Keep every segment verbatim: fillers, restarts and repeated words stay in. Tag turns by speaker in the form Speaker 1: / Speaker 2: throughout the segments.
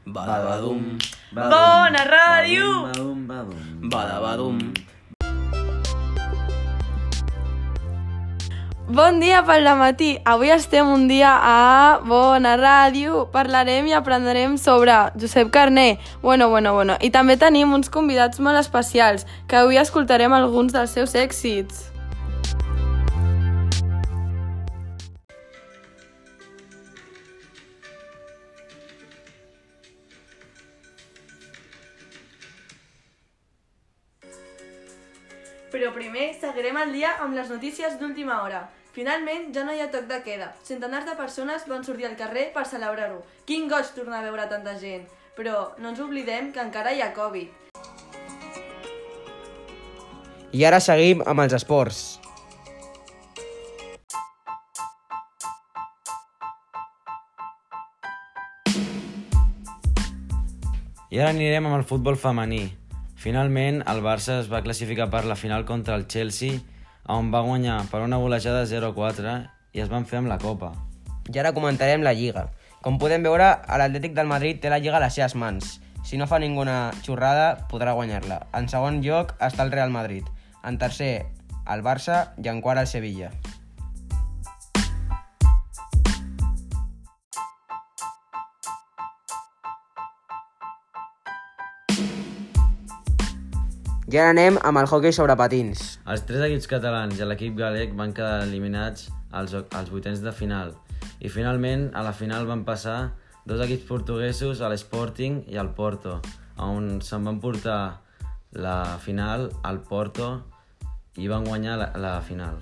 Speaker 1: Badabadum.
Speaker 2: Bona ràdio!
Speaker 1: Badabadum.
Speaker 2: Bon dia pel dematí. Avui estem un dia a Bona Ràdio. Parlarem i aprendrem sobre Josep Carner. Bueno, bueno, bueno. I també tenim uns convidats molt especials, que avui escoltarem alguns dels seus èxits. Però primer seguirem el dia amb les notícies d'última hora. Finalment, ja no hi ha toc de queda. Centenars de persones van sortir al carrer per celebrar-ho. Quin goig tornar a veure tanta gent. Però no ens oblidem que encara hi ha Covid.
Speaker 3: I ara seguim amb els esports.
Speaker 4: I ara anirem amb el futbol femení. Finalment, el Barça es va classificar per la final contra el Chelsea, on va guanyar per una golejada zero a quatre i es van fer amb la Copa.
Speaker 3: I ara comentarem la Lliga. Com podem veure, l'Atlètic del Madrid té la Lliga a les seves mans. Si no fa ninguna xorrada, podrà guanyar-la. En segon lloc està el Real Madrid. En tercer, el Barça i en quart el Sevilla. I ara anem amb el hoquei sobre patins.
Speaker 4: Els tres equips catalans i l'equip galec van quedar eliminats als, als vuitens de final. I finalment, a la final van passar dos equips portuguesos, l'Sporting i el Porto, on se'n van portar la final al Porto i van guanyar la, la final.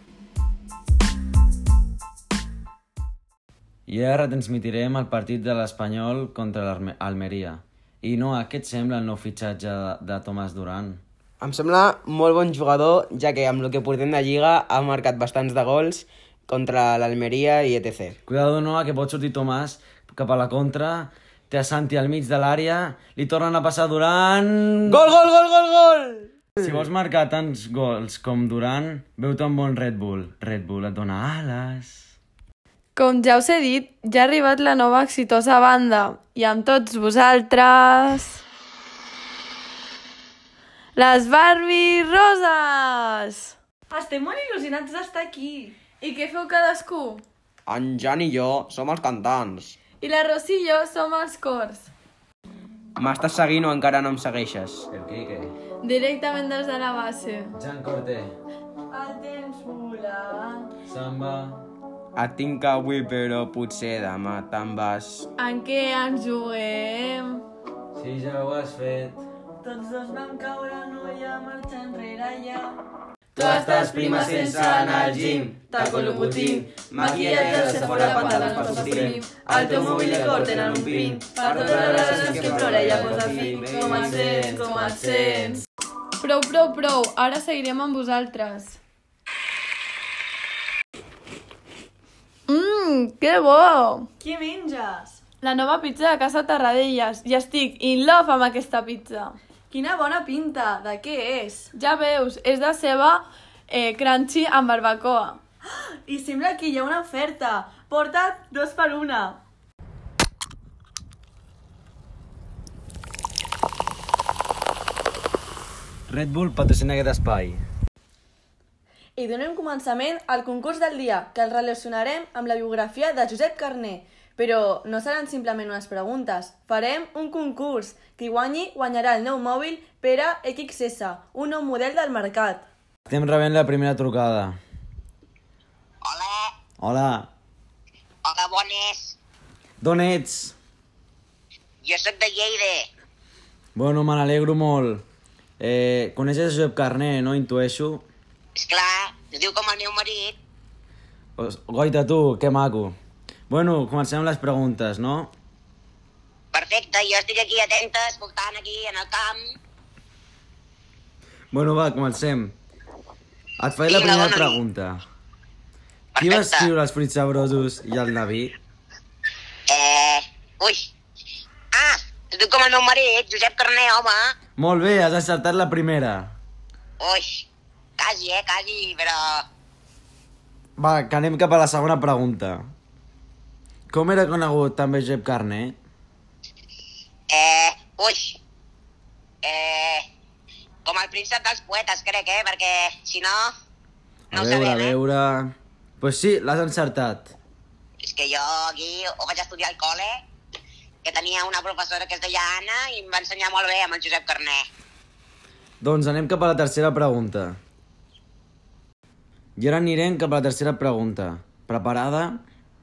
Speaker 4: I ara retransmitirem el partit de l'Espanyol contra l'Almeria. I no, què et sembla el nou fitxatge de, de Tomàs Duran?
Speaker 3: Em sembla molt bon jugador, ja que amb el que portem de Lliga ha marcat bastants de gols contra l'Almeria i etcètera.
Speaker 4: Cuidado, no, que pot sortir Tomàs cap a la contra, té a Santi al mig de l'àrea, li tornen a passar Duran...
Speaker 3: Gol, gol, gol, gol, gol!
Speaker 4: Si vols marcar tants gols com Duran, veu-te un bon Red Bull. Red Bull et dona ales...
Speaker 2: Com ja us he dit, ja ha arribat la nova exitosa banda. I amb tots vosaltres... Les Barbie Roses! Estem molt il·lusionats d'estar aquí. I què feu cadascú?
Speaker 3: En Jan i jo som els cantants.
Speaker 2: I la Rosi i jo som els cors.
Speaker 3: M'estàs seguint o encara no em segueixes?
Speaker 4: El Quique.
Speaker 2: Directament des de la base.
Speaker 4: Jan Corté.
Speaker 2: El temps vola.
Speaker 4: Samba.
Speaker 3: Et tinc avui, però potser demà te'n vas.
Speaker 2: En què ens juguem?
Speaker 4: Si ja ho has fet.
Speaker 2: Tots dos vam caure, no hi ha marxa enrere ja.
Speaker 3: Tu estàs prima sense anar al gym. Taco Louboutin, maquillatge de Sephora, pantalons per Supreme. El teu mòbil i el cor tenen un pin. Per totes les relacions que plora ja posa fi.
Speaker 2: Com et sents, com et sents? Prou, prou, prou. Ara seguirem amb vosaltres. Mmm, que bo! Què menges? La nova pizza de Casa Tarradellas. I estic in love amb aquesta pizza. Quina bona pinta! De què és? Ja veus, és de ceba eh, crunchy amb barbacoa. I sembla que hi ha una oferta. Porta't dos per una.
Speaker 4: Red Bull patrocina aquest espai.
Speaker 2: I donem començament al concurs del dia, que el relacionarem amb la biografia de Josep Carner. Però no seran simplement unes preguntes. Farem un concurs. Qui guanyi guanyarà el nou mòbil per a X S, un nou model del mercat.
Speaker 4: Estem rebent la primera trucada.
Speaker 5: Hola.
Speaker 4: Hola.
Speaker 5: Hola, bones.
Speaker 4: D'on ets?
Speaker 5: Jo sóc de Lleida.
Speaker 4: Bueno, me n'alegro molt. Eh, coneixes Josep Carner, no? Intueixo.
Speaker 5: Esclar, es diu com el meu marit.
Speaker 4: Pues, goita tu, que maco. Bueno, comencem amb les preguntes, no?
Speaker 5: Perfecte, jo estic aquí atenta, escoltant aquí en el camp.
Speaker 4: Bueno, va, comencem. Et faré la
Speaker 5: Vinga,
Speaker 4: primera
Speaker 5: dona-li.
Speaker 4: pregunta. Qui va
Speaker 5: Perfecte.
Speaker 4: escriure Els fruits sabrosos i el Daví?
Speaker 5: Eh... Ui. Ah, es diu com el meu marit, Josep Carner, home.
Speaker 4: Molt bé, has encertat la primera.
Speaker 5: Ui, quasi, eh, quasi, però...
Speaker 4: Va, que anem cap a la segona pregunta. Com era conegut també Josep Carner?
Speaker 5: Eh, ui. Eh, com el príncep dels poetes, crec, eh? Perquè, si no, no
Speaker 4: A
Speaker 5: ho
Speaker 4: veure, a
Speaker 5: sabem, eh?
Speaker 4: veure... Pues sí, l'has encertat.
Speaker 5: És que jo aquí ho vaig estudiar al col·le, que tenia una professora que es deia Anna i em va ensenyar molt bé amb el Josep Carné.
Speaker 4: Doncs anem cap a la tercera pregunta. I ara anirem cap a la tercera pregunta. Preparada?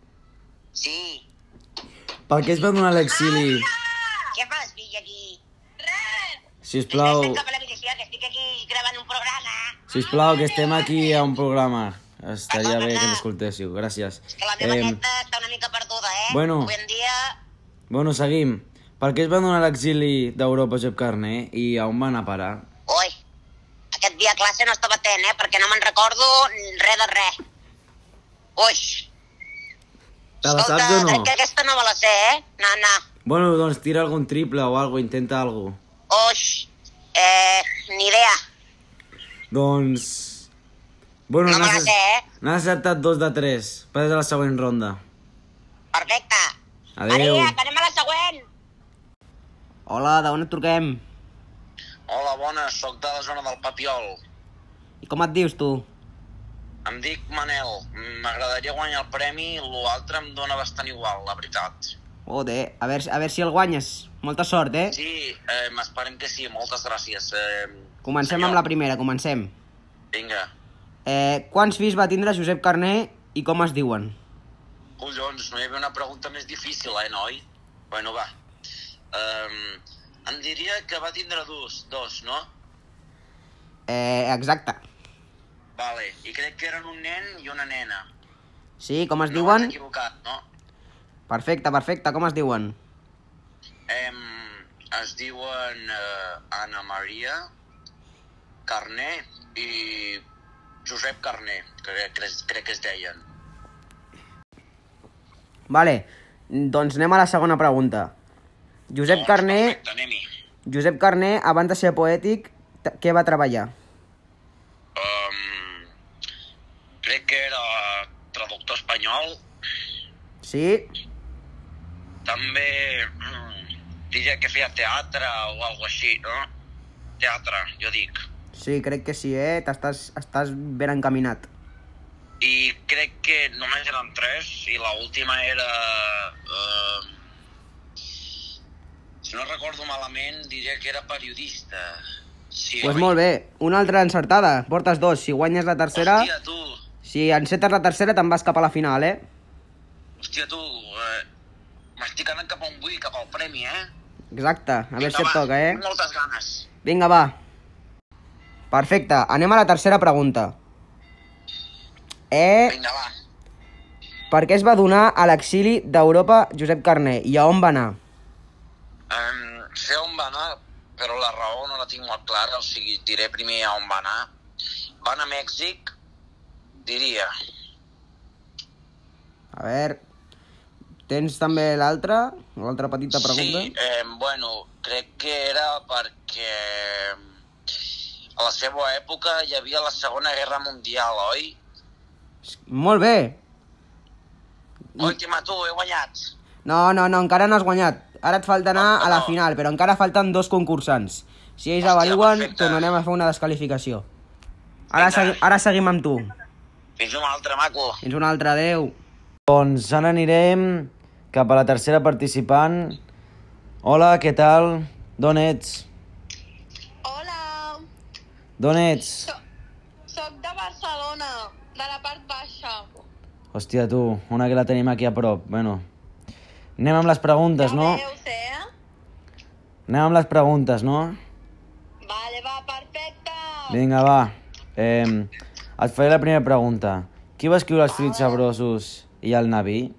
Speaker 5: Sí.
Speaker 4: Per què es va donar l'exili?
Speaker 5: Què fas, fill, aquí? Res!
Speaker 4: Sisplau,
Speaker 5: Estem cap a la milicia, que estic aquí gravant un programa.
Speaker 4: sisplau, que estem aquí a un programa. Estaria bé que ens escoltéssiu, gràcies.
Speaker 5: És que la meva
Speaker 4: Em,
Speaker 5: neta està una mica perduda, eh?
Speaker 4: bueno.
Speaker 5: Avui en dia...
Speaker 4: Bueno, seguim. Per què es va donar l'exili d'Europa Josep Carné i a on va anar a parar?
Speaker 5: Ui, aquest dia a classe no estava atent, eh? Perquè no me'n recordo res de res. Ui.
Speaker 4: Te la saps o no?
Speaker 5: Crec que aquesta no me la sé, eh? No, no.
Speaker 4: Bueno, doncs tira algun triple o algo, intenta algo.
Speaker 5: Ui, eh, ni idea.
Speaker 4: Doncs... Bueno,
Speaker 5: No me la
Speaker 4: n'has
Speaker 5: sé, eh?
Speaker 4: n'has acertat dos de tres. Passes a la següent ronda.
Speaker 5: Perfecte.
Speaker 4: Adéu.
Speaker 5: Maria, que anem a la següent.
Speaker 3: Hola, d'on et truquem?
Speaker 6: Hola, bones, sóc de la zona del Papiol.
Speaker 3: I com et dius, tu?
Speaker 6: Em dic Manel. M'agradaria guanyar el premi, l'altre em dóna bastant igual, la veritat.
Speaker 3: Joder, a veure, a veure si el guanyes. Molta sort, eh?
Speaker 6: Sí, eh, m'esperem que sí, moltes gràcies. Eh,
Speaker 3: Comencem
Speaker 6: senyor.
Speaker 3: amb la primera, comencem.
Speaker 6: Vinga.
Speaker 3: Eh, quants fills va tindre Josep Carné i com es diuen?
Speaker 6: Collons, no hi havia una pregunta més difícil, eh, noi? Bueno, va. Um, em diria que va tindre dos, dos, no?
Speaker 3: Eh, exacte.
Speaker 6: Vale, i crec que eren un nen i una nena.
Speaker 3: Sí, com es
Speaker 6: No
Speaker 3: diuen?
Speaker 6: m'he equivocat, no?
Speaker 3: Perfecte, perfecte, com es diuen?
Speaker 6: Em, es diuen eh, Anna Maria Carné i Josep Carné, crec, crec, crec que es deien.
Speaker 3: Vale, doncs anem a la segona pregunta. Josep
Speaker 6: Doncs,
Speaker 3: Carné,
Speaker 6: Perfecte, anem-hi.
Speaker 3: Josep Carné, abans de ser poètic, t- què va treballar?
Speaker 6: Um, crec que era traductor espanyol.
Speaker 3: Sí?
Speaker 6: També mm, diria que feia teatre o alguna així, no? Teatre, jo dic.
Speaker 3: Sí, crec que sí, eh? T'estàs estàs ben encaminat.
Speaker 6: I crec que només eren tres i l'última era... Uh, si no recordo malament, diria que era periodista. Sí,
Speaker 3: Doncs pues
Speaker 6: oi?
Speaker 3: molt bé, una altra encertada. Portes dos. Si guanyes la tercera...
Speaker 6: Hòstia, tu,
Speaker 3: Si encetes la tercera, te'n vas cap a la final, eh?
Speaker 6: hòstia, tu, eh, m'estic anant cap on vull, cap al premi, eh?
Speaker 3: Exacte, a veure si et
Speaker 6: va,
Speaker 3: toca, eh?
Speaker 6: tinc moltes ganes.
Speaker 3: Vinga, va. Perfecte, anem a la tercera pregunta. Eh,
Speaker 6: Vinga, va.
Speaker 3: per què es va donar a l'exili d'Europa Josep Carné i a on va anar?
Speaker 6: Um, sé on va anar, però la raó no la tinc molt clara, o sigui, diré primer a on va anar. Va anar a Mèxic, diria.
Speaker 3: A veure, tens també l'altra? L'altra petita pregunta?
Speaker 6: Sí, eh, bueno, crec que era perquè a la seva època hi havia la Segona Guerra Mundial, oi?
Speaker 3: Molt bé.
Speaker 6: Última, tu, he guanyat.
Speaker 3: No, no, no, encara no has guanyat. Ara et falta anar
Speaker 6: No,
Speaker 3: a la
Speaker 6: no.
Speaker 3: final, però encara falten dos concursants. Si ells
Speaker 6: Hòstia,
Speaker 3: avaluen,
Speaker 6: perfecte.
Speaker 3: tornarem a fer una desqualificació. Ara,
Speaker 6: Vinga.
Speaker 3: segui, ara seguim amb tu.
Speaker 6: Fins una altra, maco.
Speaker 3: Fins una altra, adeu.
Speaker 4: Doncs ara anirem cap a la tercera participant. Hola, què tal? D'on ets?
Speaker 2: Hola,
Speaker 4: D'on ets?
Speaker 2: soc, soc de Barcelona, de la part baixa.
Speaker 4: Hòstia, tu, una que la tenim aquí a prop. Bueno, anem amb les preguntes, no?
Speaker 2: veus, eh?
Speaker 4: Anem amb les preguntes, no?
Speaker 2: Vale, va, perfecte.
Speaker 4: Vinga, va. Eh, et faré la primera pregunta. Qui va escriure els fruits sabrosos i el Naví?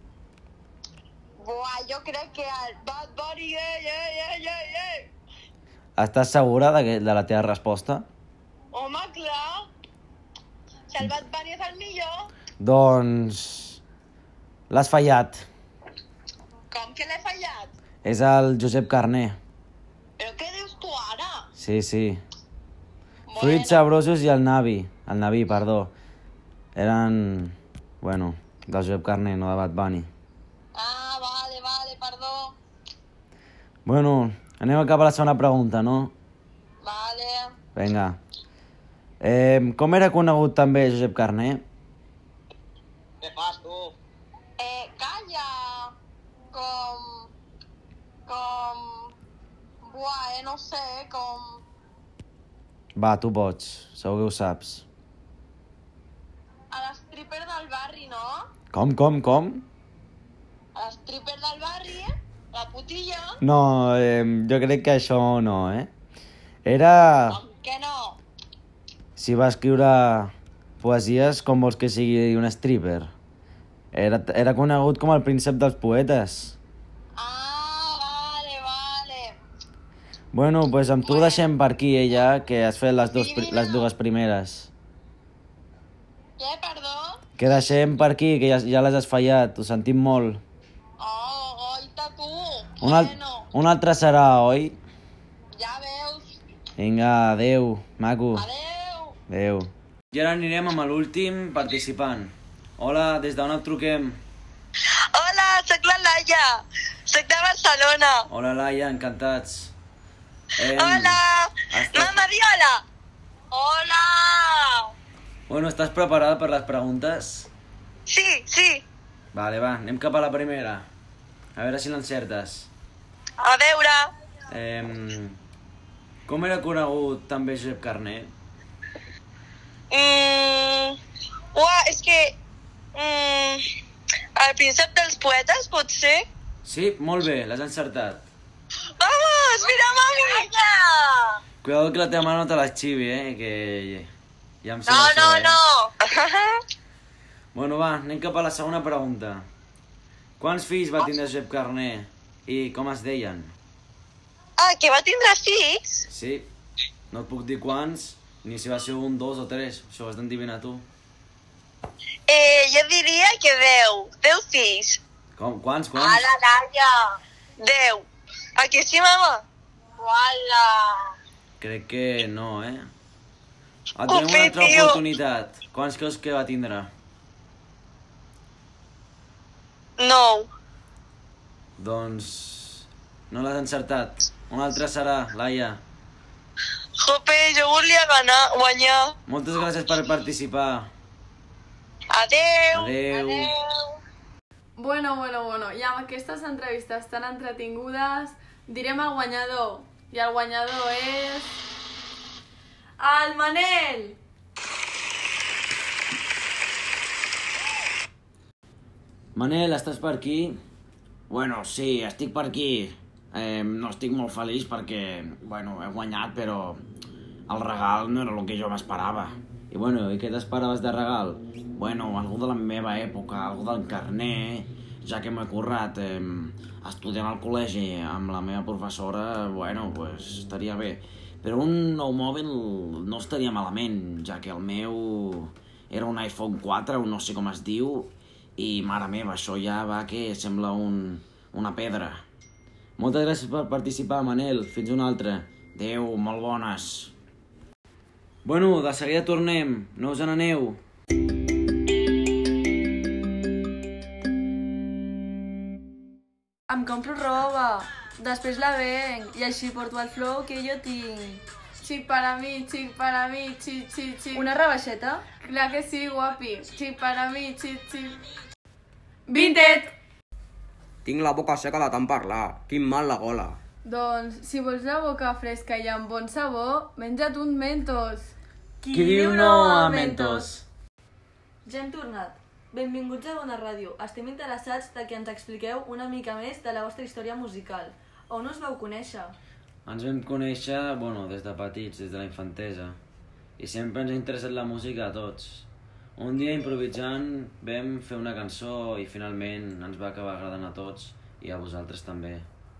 Speaker 2: Buah, jo crec que el Bad Bunny, eh, eh, eh, eh, eh.
Speaker 4: Estàs segura de, que, de la teva resposta?
Speaker 2: Home, clar. Si el Bad Bunny és el millor,
Speaker 4: Doncs... l'has fallat.
Speaker 2: com que l'he fallat?
Speaker 4: És el Josep Carné.
Speaker 2: Però què dius tu ara?
Speaker 4: Sí, sí. Fruits sabrosos i el Navi. El Navi, perdó. Eren... Bueno, del Josep Carné, no de Bad Bunny.
Speaker 2: Ah, vale, vale, perdó.
Speaker 4: Bueno, anem cap a la segona pregunta, no?
Speaker 2: Vale.
Speaker 4: Vinga. Eh, com era conegut també Josep Carner?
Speaker 6: Què fas, tu?
Speaker 2: Eh, calla! Com... Com... Buah, eh, no sé, com...
Speaker 4: Va, tu pots, segur que ho saps.
Speaker 2: A l'stripper del barri, no?
Speaker 4: Com, com, com?
Speaker 2: A l'stripper del barri, la putilla...
Speaker 4: No, eh, jo crec que això no, eh? Era...
Speaker 2: Com que no?
Speaker 4: Si va escriure poesies, com vols que sigui un stripper? Era, era conegut com el príncep dels poetes.
Speaker 2: Ah, vale, vale.
Speaker 4: Bueno, doncs pues amb tu deixem per aquí, ella, que has fet les, dos, les dues primeres.
Speaker 2: Què, perdó?
Speaker 4: Que deixem per aquí, que ja, ja les has fallat, ho sentim molt.
Speaker 2: Oh, goita, tu.
Speaker 4: Un, al, un altre serà, oi?
Speaker 2: Ja veus.
Speaker 4: Vinga, adeu, maco.
Speaker 2: Adeu.
Speaker 4: Adeu. I ara anirem amb l'últim participant. Hola, des d'on et truquem?
Speaker 2: Hola, sóc la Laia. Sóc de Barcelona.
Speaker 4: Hola, Laia, encantats. Em...
Speaker 2: Hola.
Speaker 4: Estàs...
Speaker 2: Mama, di hola. Hola.
Speaker 4: Bueno, estàs preparada per les preguntes?
Speaker 2: Sí, sí.
Speaker 4: Vale, va, anem cap a la primera. A veure si l'encertes.
Speaker 2: A veure.
Speaker 4: Eh... Com era conegut també Josep Carner?
Speaker 2: Mm, uah, és que... Mm, el príncep dels poetes, pot ser?
Speaker 4: Sí, molt bé, l'has encertat.
Speaker 2: Vamos, mira, mami!
Speaker 4: Cuidado que la teva mare no te l'esxivi, eh? Que ja em sé
Speaker 2: No,
Speaker 4: això,
Speaker 2: no,
Speaker 4: eh?
Speaker 2: no!
Speaker 4: Bueno, va, anem cap a la segona pregunta. Quants fills va tindre Josep Carner i com es deien?
Speaker 2: Ah, que va tindre fills?
Speaker 4: Sí, no et puc dir quants, ni si va ser un, dos o tres, això ho has d'endivinar tu.
Speaker 2: Eh, jo diria que deu. Deu fills.
Speaker 4: Com? Quants, quants?
Speaker 2: Ala, Laia! Deu. Aquí sí, mama? Uala!
Speaker 4: Crec que no, eh? Ah, tenim una
Speaker 2: Ufi,
Speaker 4: altra
Speaker 2: tio.
Speaker 4: oportunitat. Quants creus que va tindre?
Speaker 2: Nou.
Speaker 4: Doncs... no l'has encertat. Una altra serà, Laia.
Speaker 2: Jope, jo volia ganar, guanyar.
Speaker 4: Moltes gràcies per participar.
Speaker 2: Adeu.
Speaker 4: Adeu.
Speaker 2: Bueno, bueno, bueno, i amb aquestes entrevistes tan entretingudes direm el guanyador. I el guanyador és... el Manel!
Speaker 3: Manel, estàs per aquí? Bueno, sí, estic per aquí. Eh, no estic molt feliç perquè, bueno, he guanyat, però el regal no era el que jo m'esperava.
Speaker 4: I bueno, i què t'esperaves de regal?
Speaker 3: Bueno, algú de la meva època, algú del Carner, ja que m'he currat eh, estudiant al col·legi amb la meva professora, bueno, pues estaria bé. Però un nou mòbil no estaria malament, ja que el meu era un iPhone quatre, o no sé com es diu, i mare meva, això ja va que sembla un, una pedra.
Speaker 4: Moltes gràcies per participar, Manel. Fins una altra.
Speaker 3: Adéu, molt bones.
Speaker 4: Bueno, de seguida tornem. No us n'aneu.
Speaker 2: Em compro roba, després la venc i així porto el flow que jo tinc. Xic para mi, xic para mi, xic, xic, xic. Una rebaixeta? Clar que sí, guapi. Xic para mi, xic, xic. Vinted!
Speaker 3: Tinc la boca seca de tant parlar. Quin mal la gola.
Speaker 2: Doncs, si vols la boca fresca i amb bon sabor, menja't un Mentos.
Speaker 4: Qui diu no a Mentos?
Speaker 7: Ja hem tornat. Benvinguts a Bona Ràdio. Estem interessats de que ens expliqueu una mica més de la vostra història musical. On us vau conèixer?
Speaker 4: Ens vam conèixer, bueno, des de petits, des de la infantesa. I sempre ens ha interessat la música a tots. Un dia improvisant vam fer una cançó i finalment ens va acabar agradant a tots i a vosaltres també.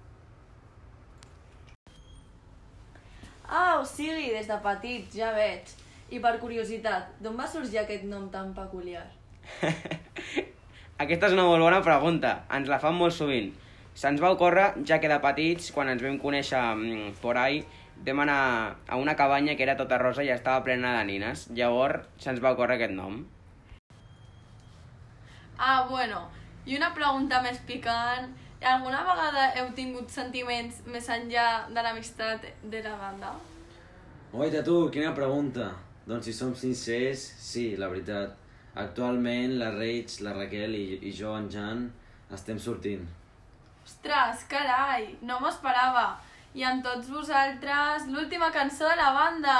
Speaker 7: Ah, o sigui, des de petits, ja veig. I per curiositat, d'on va sorgir aquest nom tan peculiar?
Speaker 3: Aquesta és una molt bona pregunta. Ens la fan molt sovint. Se'ns va ocórrer, ja que de petits, quan ens vam conèixer mm, por ahí, vam anar a una cabanya que era tota rosa i estava plena de nines. Llavors se'ns va ocórrer aquest nom.
Speaker 2: Ah, bueno, i una pregunta més picant. Alguna vegada heu tingut sentiments més enllà de l'amistat de la banda?
Speaker 4: Oita, tu, quina pregunta. Doncs si som sincers, sí, la veritat. Actualment la Reig, la Raquel i, i jo, en Jan, estem sortint.
Speaker 2: Ostres, carai, no m'ho esperava. I amb tots vosaltres, l'última cançó de la banda.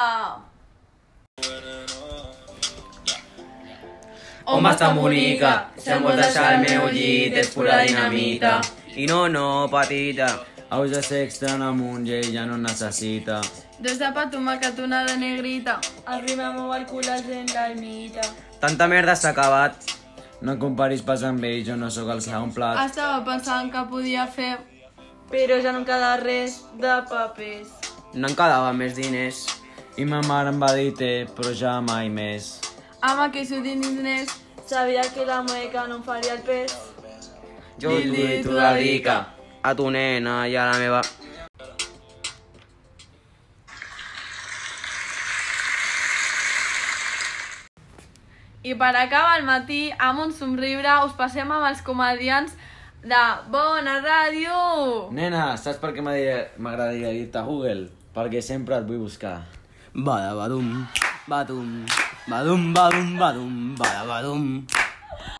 Speaker 1: On vas tan bonica? Si em vols deixar al meu llit és pura dinamita.
Speaker 3: I no, no, petita.
Speaker 4: Aus de sexe en amunt i ell ja no en necessita.
Speaker 2: Dos de pa tomàquet, una de negrita.
Speaker 7: Arriba mou el cul a gent l'almita.
Speaker 3: Tanta merda s'ha acabat.
Speaker 4: No em comparis pas amb ell, jo no sóc el segon plat.
Speaker 2: Estava pensant que podia fer...
Speaker 7: Però ja no em queda res de papers.
Speaker 3: No em quedava més diners.
Speaker 4: I ma mare em va dir té, però ja mai més.
Speaker 2: Home, que s'ho diners.
Speaker 7: Sabia que la mueca no em faria el pes.
Speaker 3: Jo t'ho i t'ho dedica a tu nena i a la meva...
Speaker 2: I per acabar el matí, amb un somriure, us passem amb els comediants de Bona Ràdio!
Speaker 4: Nena, saps per què m'agradaria dir-te Google? Perquè sempre et vull buscar.
Speaker 3: Bada badum, badum, badum, badum, badum, bada badum.